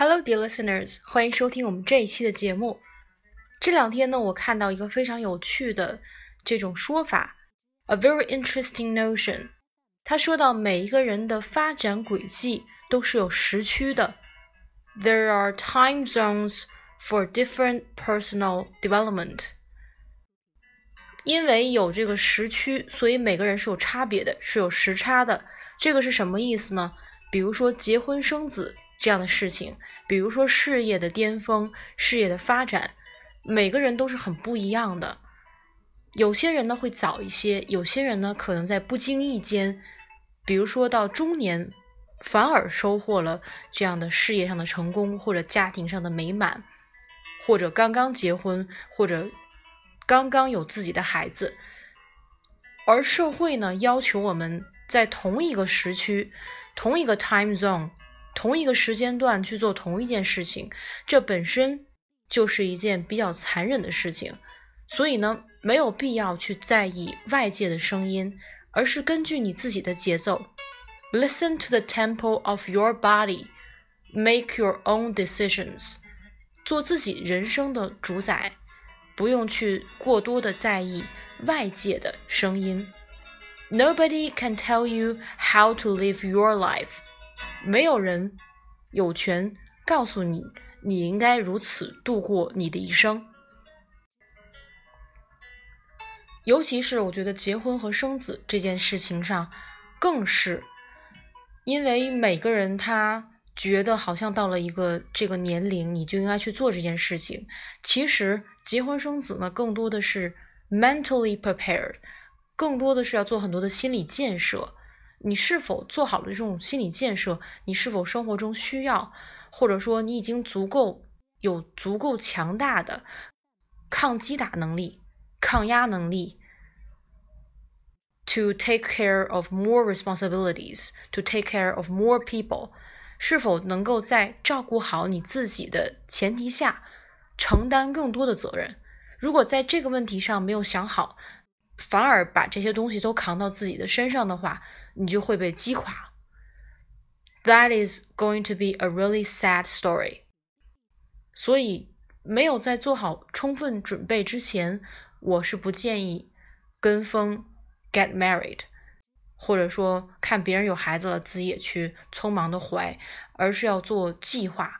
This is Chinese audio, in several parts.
Hello, dear listeners， 欢迎收听我们这一期的节目。这两天呢，我看到一个非常有趣的这种说法 ，a very interesting notion。他说到每一个人的发展轨迹都是有时区的 ，there are time zones for different personal development。因为有这个时区，所以每个人是有差别的，是有时差的。这个是什么意思呢？比如说结婚生子这样的事情，比如说事业的巅峰、事业的发展，每个人都是很不一样的。有些人呢会早一些，有些人呢可能在不经意间，比如说到中年，反而收获了这样的事业上的成功，或者家庭上的美满，或者刚刚结婚，或者刚刚有自己的孩子。而社会呢要求我们在同一个时区、同一个 time zone、同一个时间段去做同一件事情，这本身就是一件比较残忍的事情。所以呢，没有必要去在意外界的声音，而是根据你自己的节奏 Listen to the tempo of your body. Make your own decisions. 做自己人生的主宰，不用去过多的在意外界的声音。Nobody can tell you how to live your life. 没有人有权告诉你，你应该如此度过你的一生。尤其是我觉得结婚和生子这件事情上，更是因为每个人他觉得好像到了这个年龄，你就应该去做这件事情。其实结婚生子呢，更多的是 mentally prepared， 更多的是要做很多的心理建设。你是否做好了这种心理建设？你是否生活中需要，或者说你已经有足够强大的抗击打能力、抗压能力 to take care of more responsibilities, to take care of more people， 是否能够在照顾好你自己的前提下承担更多的责任？如果在这个问题上没有想好，反而把这些东西都扛到自己的身上的话，你就会被击垮。That is going to be a really sad story。 所以没有在做好充分准备之前，我是不建议跟风 get married， 或者说看别人有孩子了自己也去匆忙的怀，而是要做计划。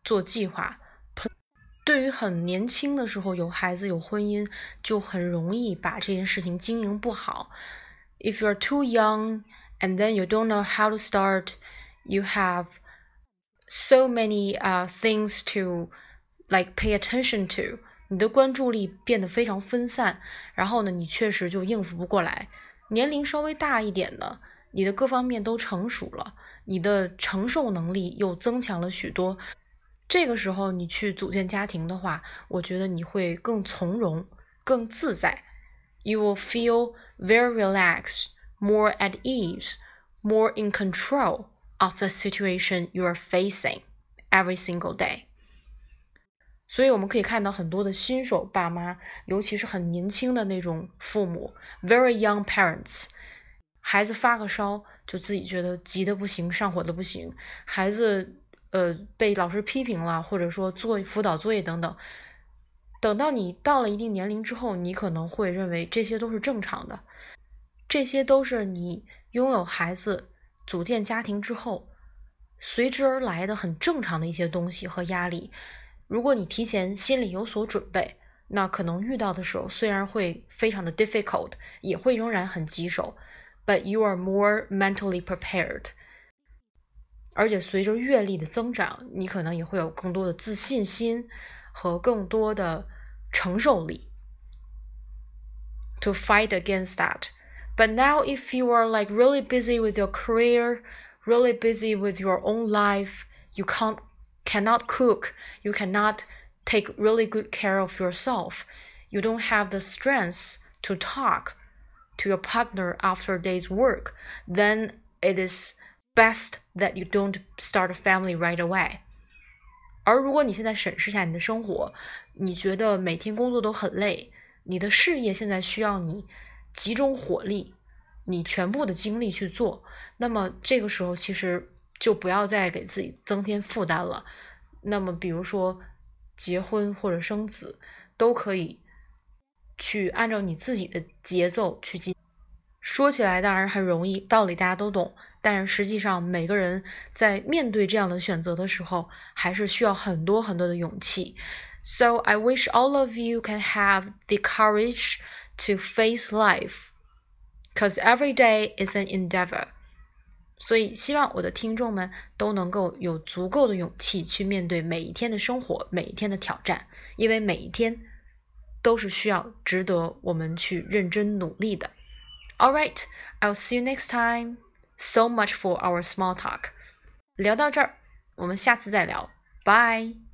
对于很年轻的时候有孩子有婚姻，就很容易把这件事情经营不好。If you're too young and then you don't know how to start, you have so many things to like pay attention to， 你的关注力变得非常分散，然后呢，你确实就应付不过来。年龄稍微大一点的，你的各方面都成熟了，你的承受能力又增强了许多。这个时候你去组建家庭的话，我觉得你会更从容、更自在。You will feel very relaxed, more at ease, more in control of the situation you are facing every single day. 所以我们可以看到很多的新手爸妈，尤其是很年轻的那种父母 very young parents， 孩子发个烧就自己觉得急得不行，上火的不行，孩子被老师批评了，或者说做辅导作业等等，等到你到了一定年龄之后，你可能会认为这些都是正常的，这些都是你拥有孩子组建家庭之后随之而来的很正常的一些东西和压力。如果你提前心里有所准备，那可能遇到的时候虽然会非常的 difficult， 也会仍然很棘手， but you are more mentally prepared。而且随着阅历的增长，你可能也会有更多的自信心和更多的承受力 to fight against that. But now if you are like really busy with your career, really busy with your own life, you cannot cook, you cannot take really good care of yourself, you don't have the strength to talk to your partner after a day's work, then it is best that you don't start a family right away. 而如果你现在审视一下你的生活，你觉得每天工作都很累，你的事业现在需要你集中火力，你全部的精力去做，那么这个时候其实就不要再给自己增添负担了。 那么比如说结婚或者生子，都可以去按照你自己的节奏去进。说起来当然很容易，道理大家都懂，但是实际上每个人在面对这样的选择的时候，还是需要很多很多的勇气。So I wish all of you can have the courage to face life, because every day is an endeavor. 所以希望我的听众们都能够有足够的勇气去面对每一天的生活，每一天的挑战，因为每一天都是需要值得我们去认真努力的。All right, I'll see you next time. So much for our small talk. 聊到这儿，我们下次再聊。Bye.